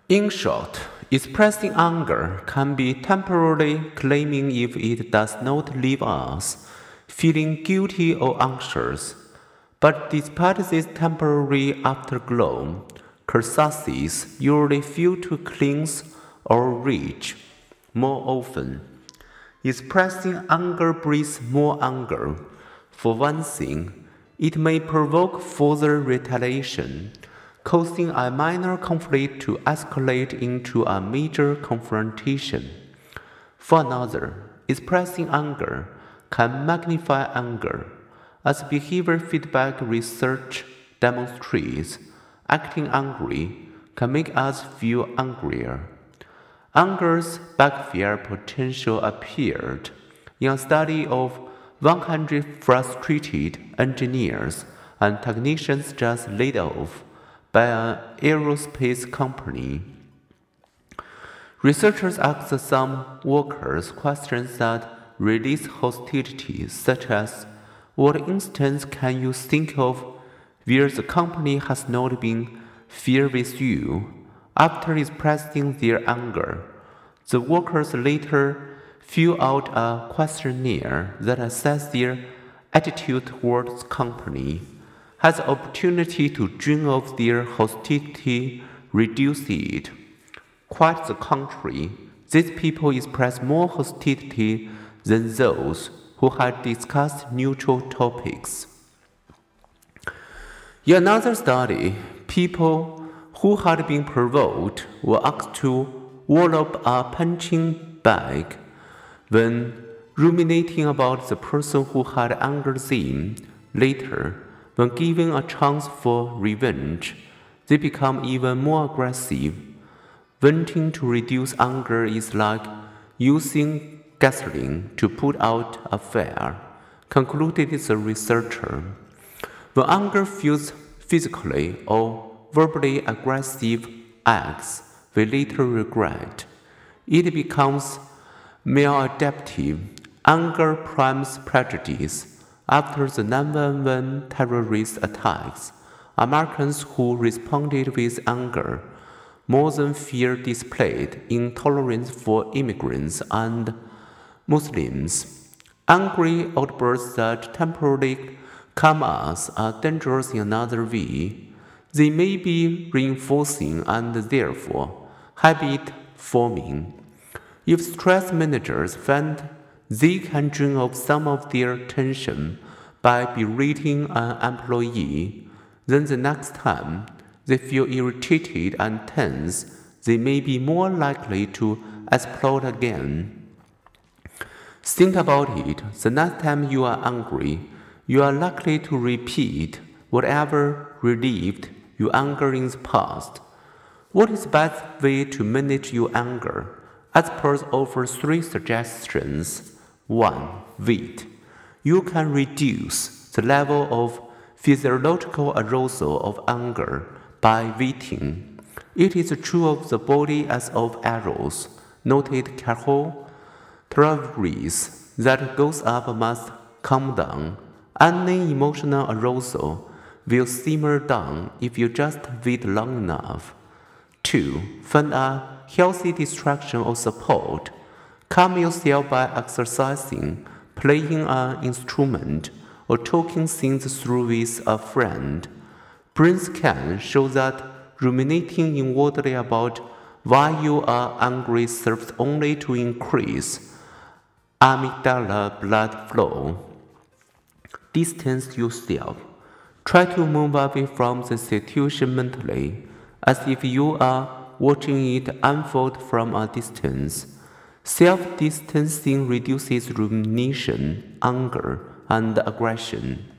In short, expressing anger can be temporarily claiming if it does not leave us feeling guilty or anxious. But despite this temporary afterglow, catharsis usually fail to cleanse or reach. More often, expressing anger breeds more anger. For one thing, it may provoke further retaliation, causing a minor conflict to escalate into a major confrontation. For another, expressing anger can magnify anger. As behavior feedback research demonstrates, acting angry can make us feel angrier. Anger's backfire potential appeared in a study of 100 frustrated engineers and technicians just laid off by an aerospace company. Researchers asked some workers questions that release hostility, such as, what instance can you think of where the company has not been fair with you? After expressing their anger, the workers later fill out a questionnaire that assesses their attitude towards the company. Has the opportunity to drain off their hostility reduced it? Quite the contrary, these people express more hostility than those who had discussed neutral topics. In another study, people who had been provoked were asked to wall up a punching bag. When ruminating about the person who had angered them, later, when given a chance for revenge, they become even more aggressive. Wanting to reduce anger is like using gasoline to put out a fire, concluded the researcher. When anger fuels physically or verbally aggressive acts we later regret, it becomes maladaptive. Anger primes prejudice. After the 9/11 terrorist attacks, Americans who responded with anger more than fear displayed intolerance for immigrants and Muslims. Angry outbursts that temporarily calm us are dangerous in another way. They may be reinforcing and therefore habit forming. If stress managers find they can drain off some of their tension by berating an employee, then the next time they feel irritated and tense, they may be more likely to explode again. Think about it. The next time you are angry, you are likely to repeat whatever relieved your anger in the past. What is the best way to manage your anger? Experts offer 3 suggestions. 1. Wait. You can reduce the level of physiological arousal of anger by waiting. It is true of the body as of arrows, noted Carol Tavares, that goes up must come down. Any emotional arousal will simmer down if you just wait long enough. 2. Find a healthy distraction or support. Calm yourself by exercising, playing an instrument, or talking things through with a friend. Brain scans show that ruminating inwardly about why you are angry serves only to increase amygdala blood flow. Distance yourself. Try to move away from the situation mentally, as if you are watching it unfold from a distance. Self-distancing reduces rumination, anger, and aggression.